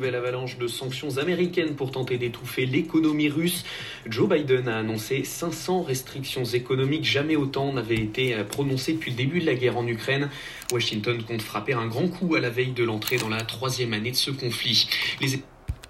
Nouvelle avalanche de sanctions américaines pour tenter d'étouffer l'économie russe. Joe Biden a annoncé 500 restrictions économiques. Jamais autant n'avaient été prononcées depuis le début de la guerre en Ukraine. Washington compte frapper un grand coup à la veille de l'entrée dans la 3e année de ce conflit.